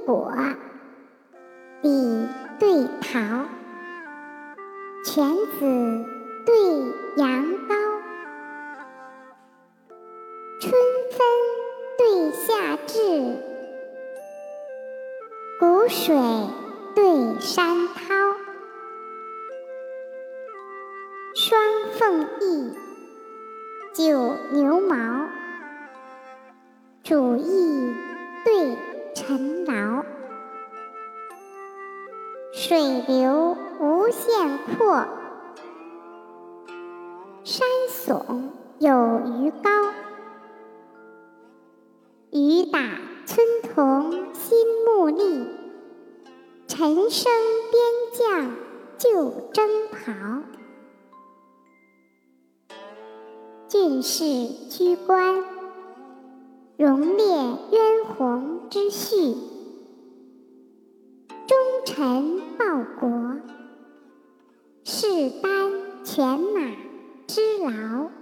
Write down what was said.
果，李对陶，犬子对羊羔，春分对夏至，谷水对山涛，双凤翼，九牛毛，主义对臣劳，水流无限阔，山耸有余高，雨打村童新木立，陈升边将旧征袍。郡士居官，荣列渊鸿之序，忠臣报国，誓担犬马之劳。